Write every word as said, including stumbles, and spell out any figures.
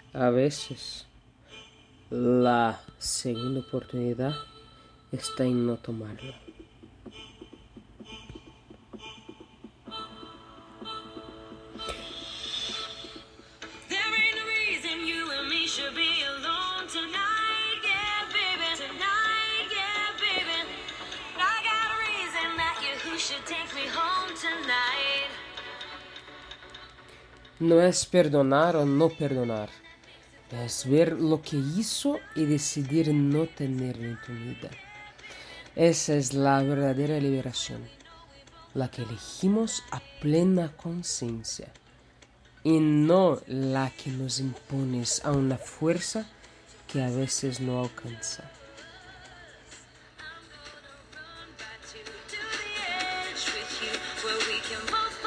A veces la segunda oportunidad está en no tomarla. No es perdonar o no perdonar, es ver lo que hizo y decidir no tenerlo en tu vida. Esa es la verdadera liberación, la que elegimos a plena conciencia y no la que nos impones a una fuerza que a veces no alcanza. Where we can both